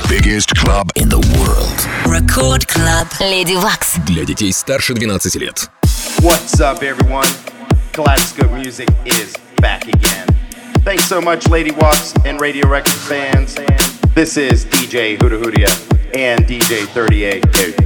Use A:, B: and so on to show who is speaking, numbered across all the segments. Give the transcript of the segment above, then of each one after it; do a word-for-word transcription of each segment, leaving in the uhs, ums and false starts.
A: biggest club in the world.
B: Record Club. Lady Wax.
C: Для детей старше двенадцати лет.
D: What's up, everyone? Kaleidoscope Music is back again. Thanks so much, Lady Wax and Radio Records fans. This is D J Huda Hudia and D J thirty-eight.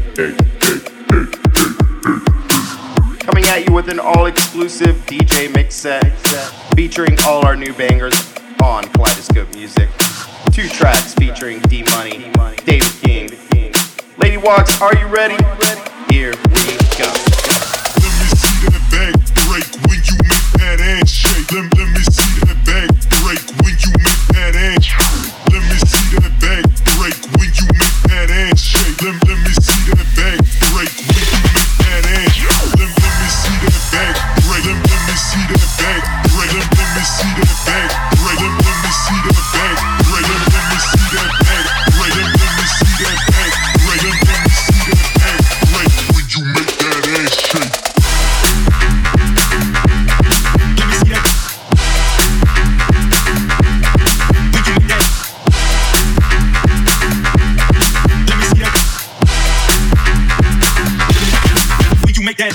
D: Coming at you with an all-exclusive D J mix set featuring all our new bangers on Kaleidoscope Music. Two tracks featuring D-Money, David King. Lady Wax, are you ready? Here we go.
E: Let me see that back break when you make that ass shake. Let, let me see that back break when you make that ass shake. Let me see that back break when you make that ass shake. Let, let me see that back break when you make that ass shake. Let, let me see that back break. Let, let me see that back break. Let, let me see that back break. Let, let me see that back break. Let, let me see that back break. Let, let me see that back break. Let, let me see that back break when you make that ass shake.
F: Make that.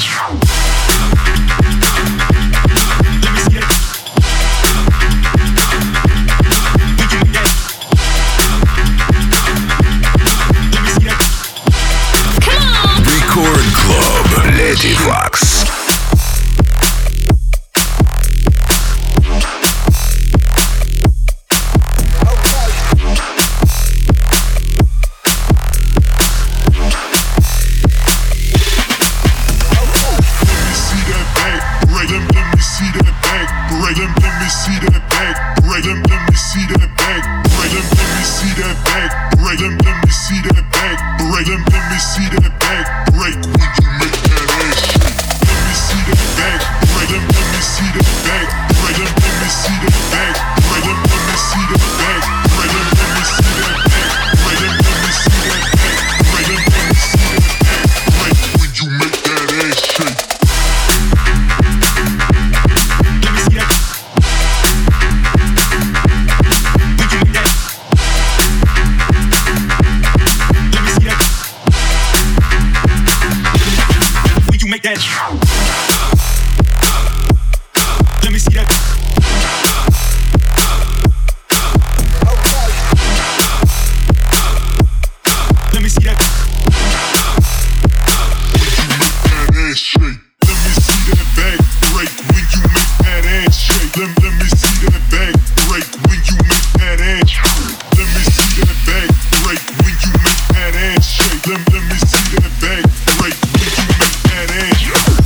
A: Record Club. Lady Wax.
E: Let me see that back break when you make that ass.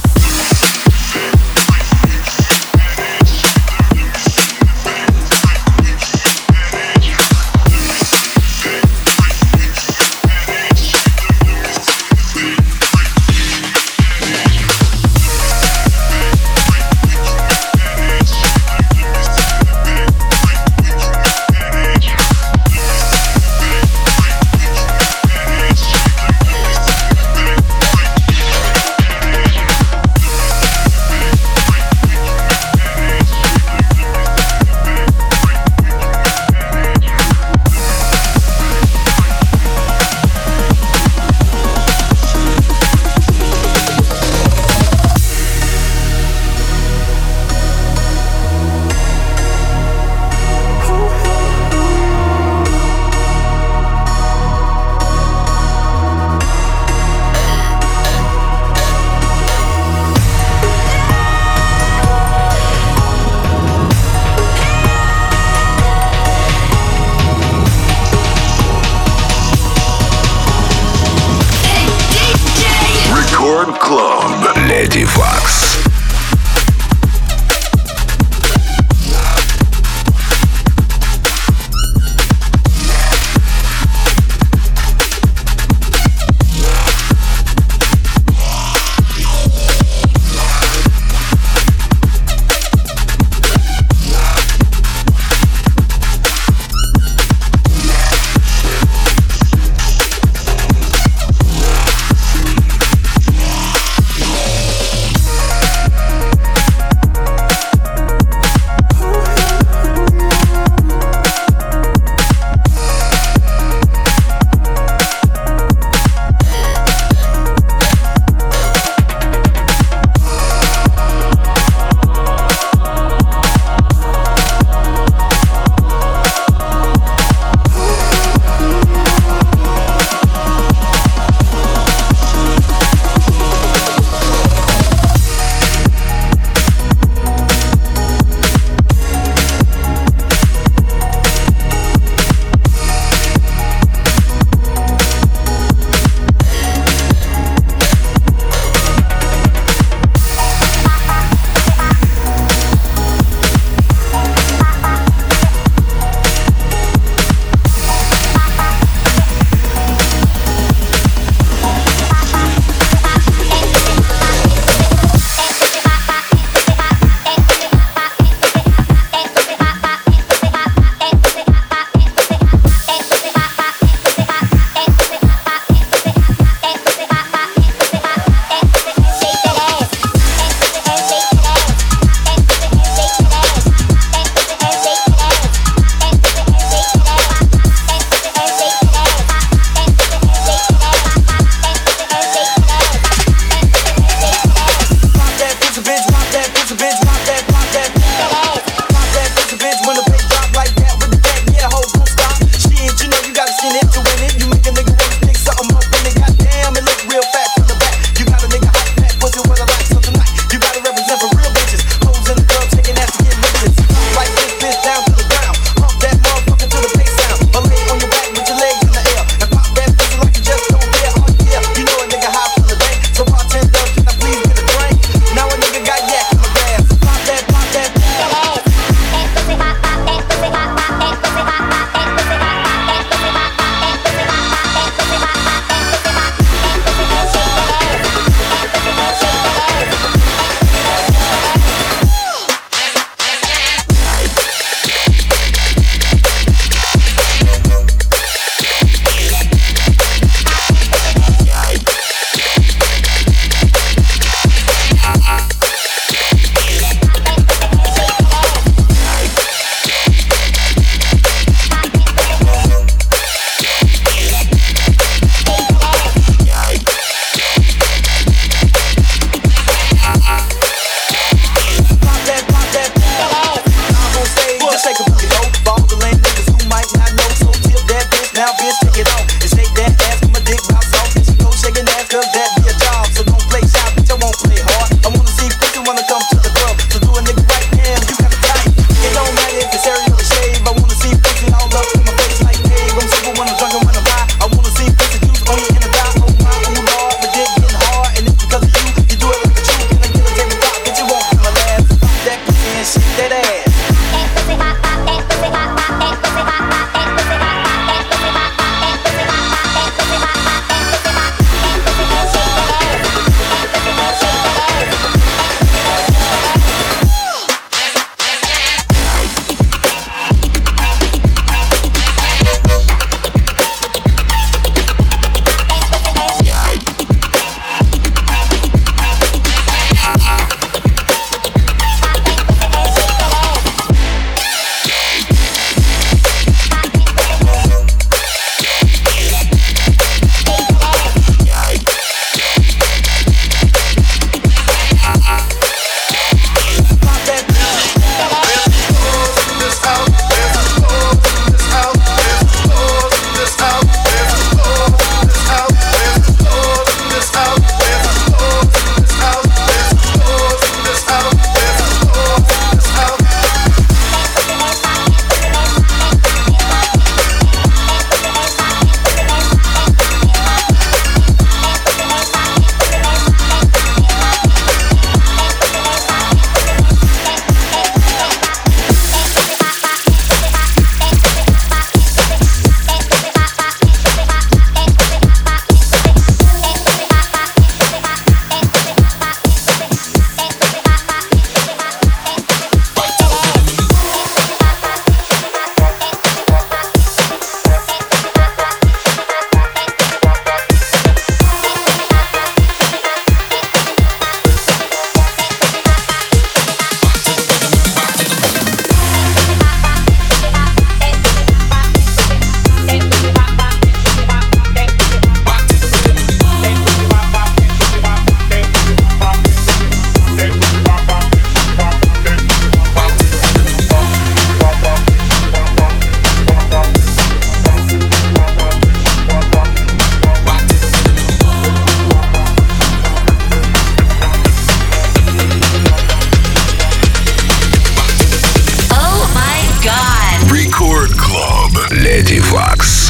A: Леди Вакс.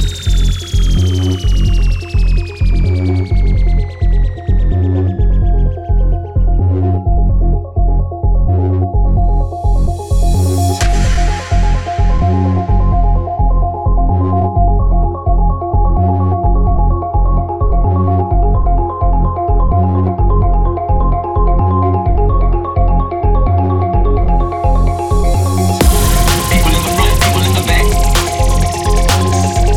F: People in the front, people in the back.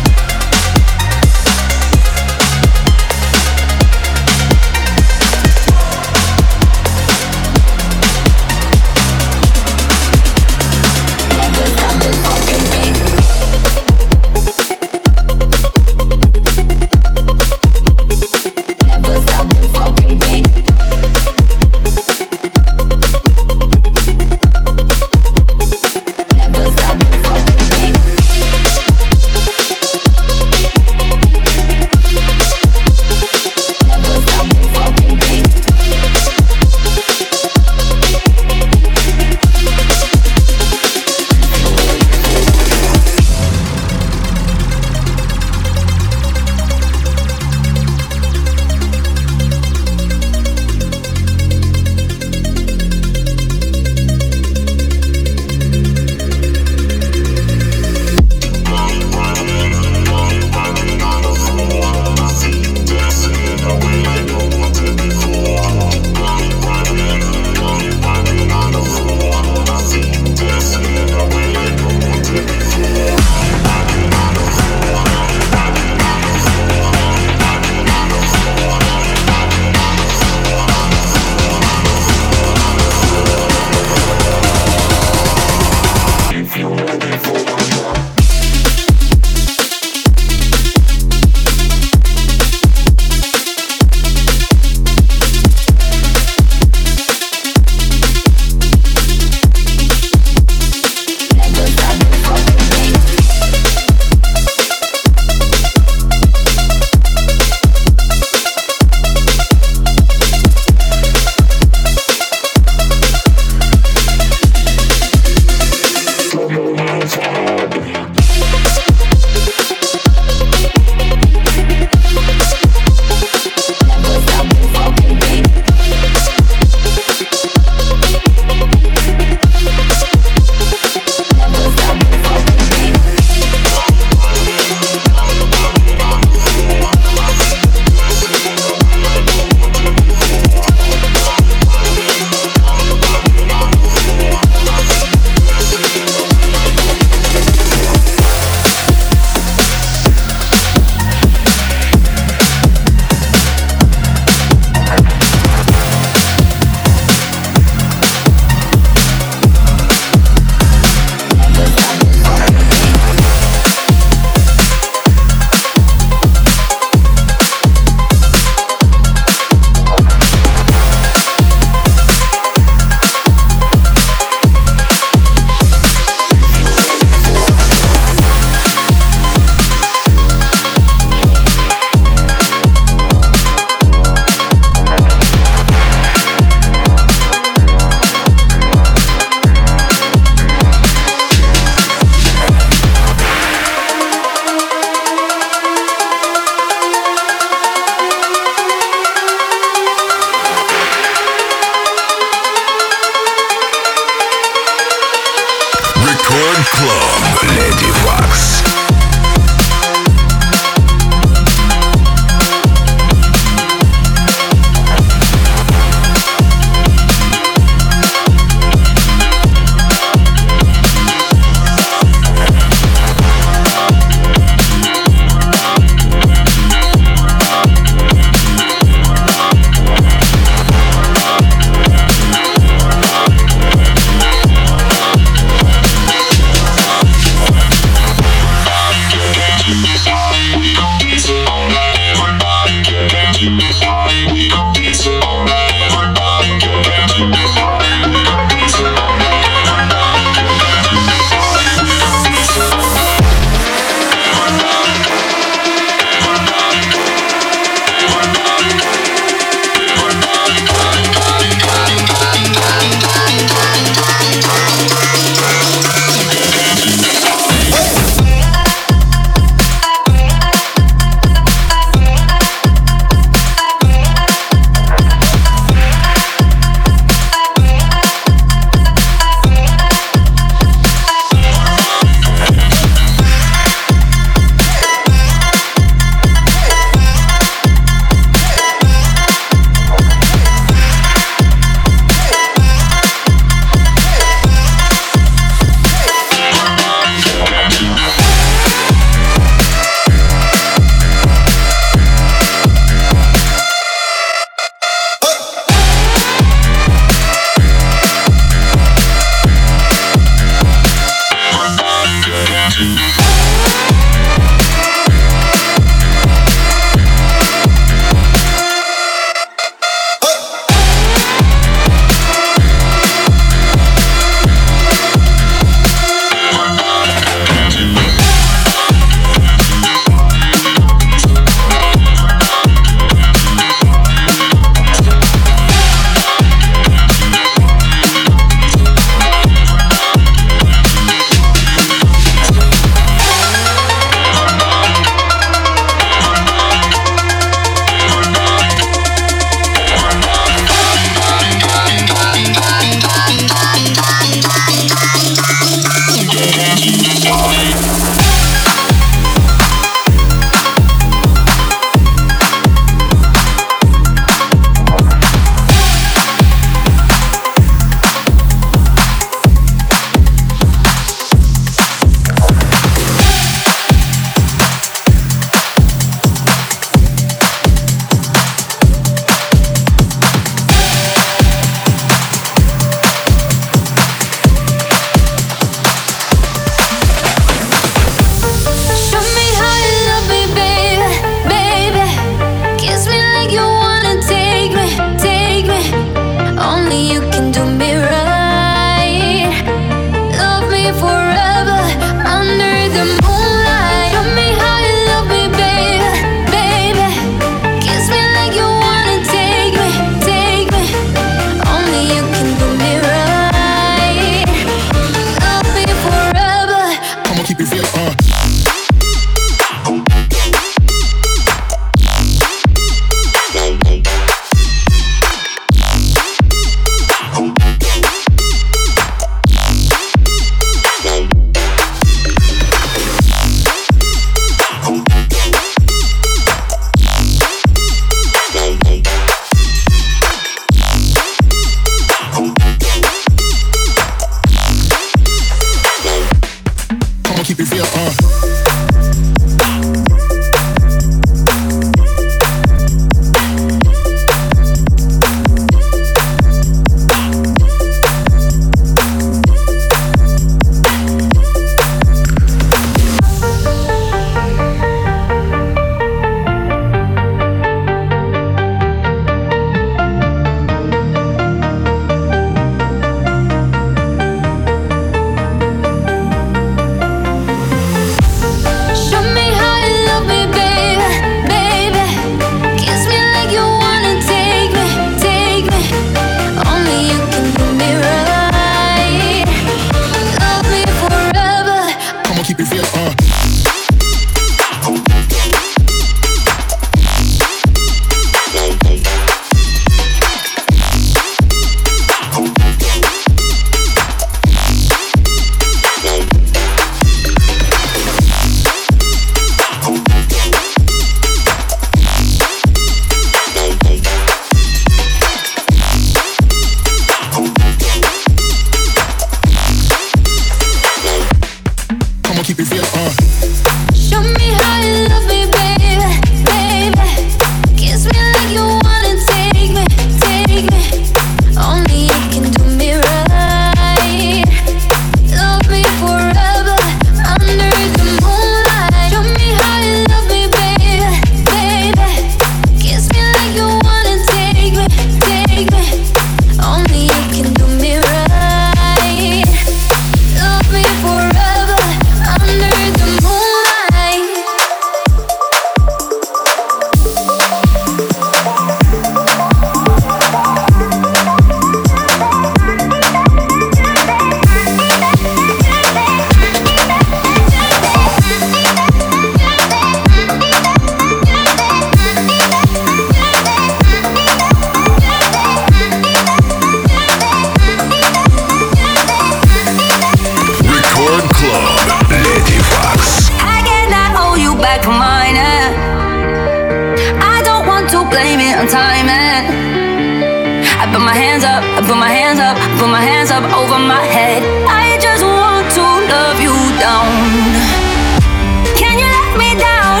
B: on time and I put my hands up, I put my hands up, I put my hands up over my head. I just want to love you down. Can you let me down?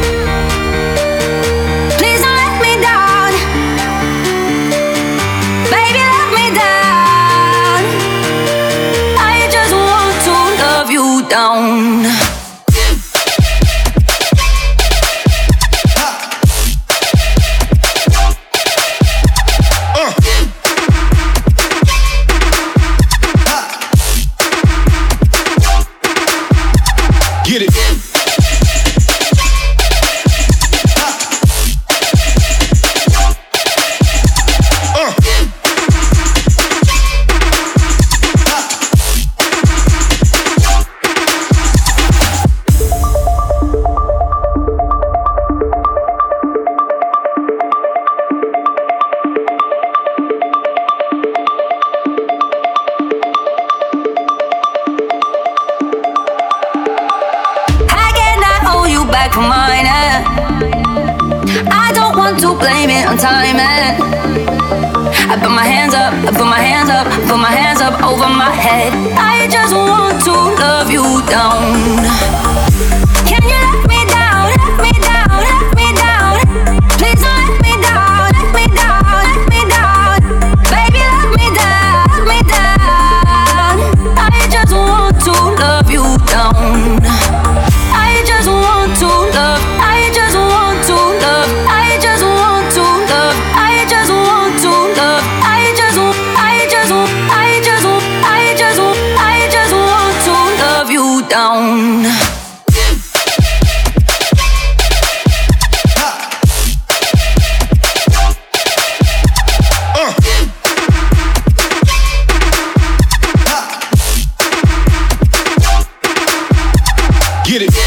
B: Please don't let me down. Baby, let me down. I just want to love you down.
E: Get it. Uh.
B: For mine, eh? I don't want to blame it on time, eh? I put my hands up, I put my hands up, I put my hands up over my head. I just want to love you down. Can you let me down, let me down, let me down? Please don't let me down, let me down, let me down. Baby, let me down, let me down. I just want to love you down. I just want to love, I just want to love, I just want to love, I just want to love, I just want, I just want, I just want, I just want, I just want to love you down.
E: Get it.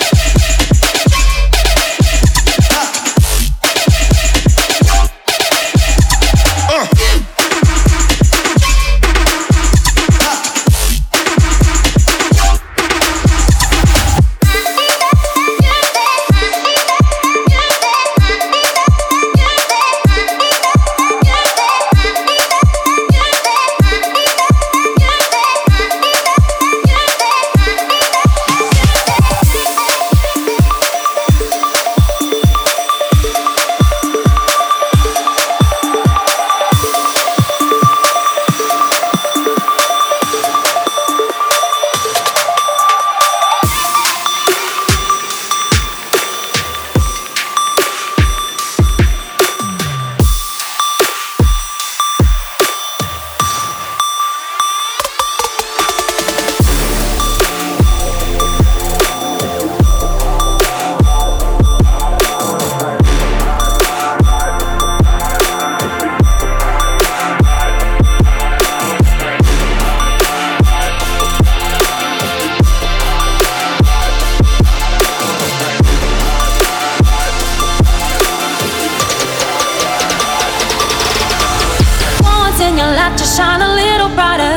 F: Shine a little brighter.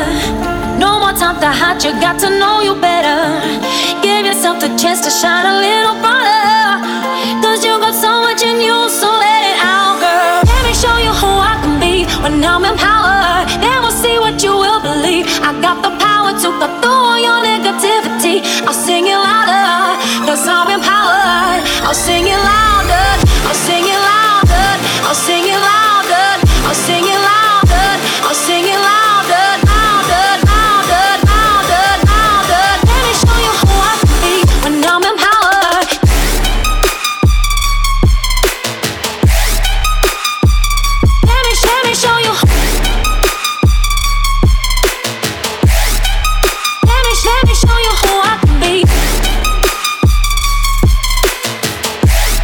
F: No more time to hide, you got to know you better. Give yourself the chance to shine a little brighter. Cause you got so much in you, so let it out, girl. Let me show you who I can be when I'm empowered. Then we'll see what you will believe. I got the power to cut through all your negativity. I'll sing it louder, cause I'm empowered. I'll sing it louder, I'll sing it louder, I'll sing it louder, I'll sing it louder. I'll sing it louder, louder, louder, louder, louder. Let me show you who I can be when I'm empowered. Let me, let me show you. Let me, let me show you who I can be.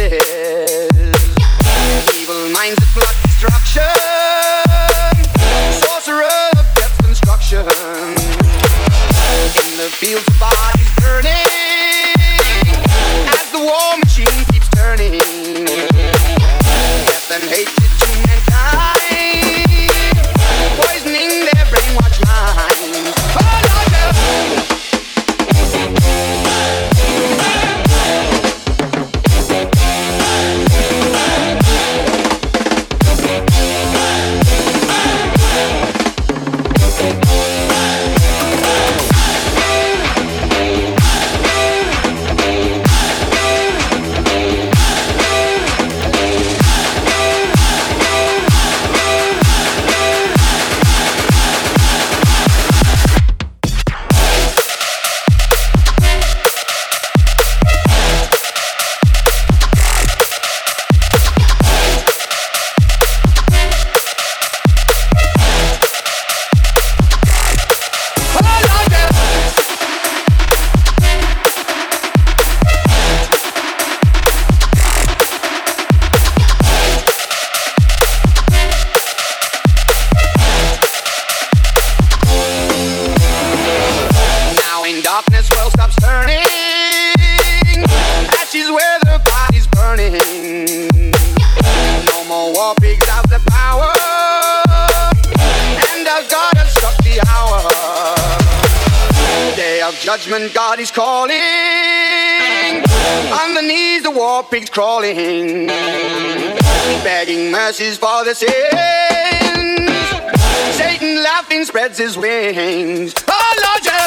G: forces. Evil minds that plot destruction. Sorcerer of death construction. In the fields of bodies burning. As the war machine keeps turning. Death and hatred to mankind. Poisoning their brainwashed minds. Oh, Lord, no. Judgment, God is calling. On the knees, the war pigs crawling, begging mercies for the sins. Satan laughing spreads his wings. Oh, Lord, yeah.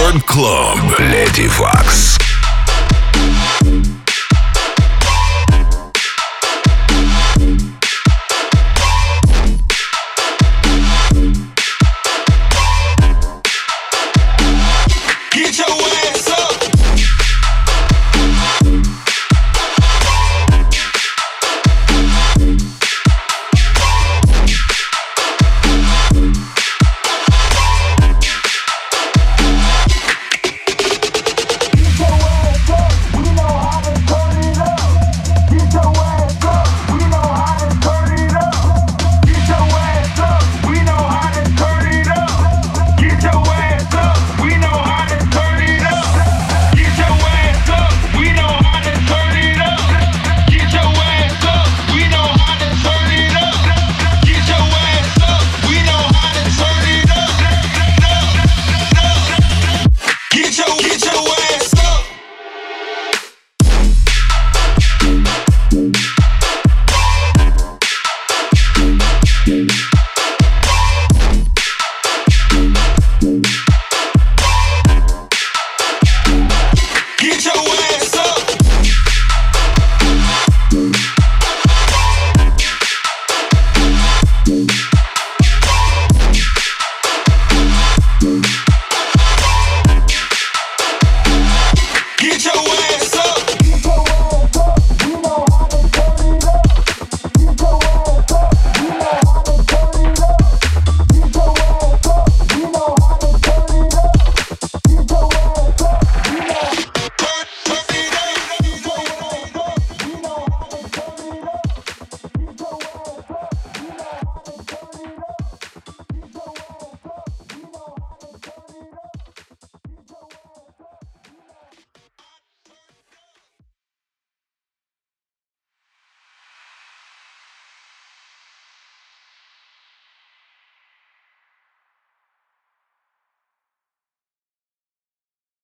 A: Record Club. Lady Fox.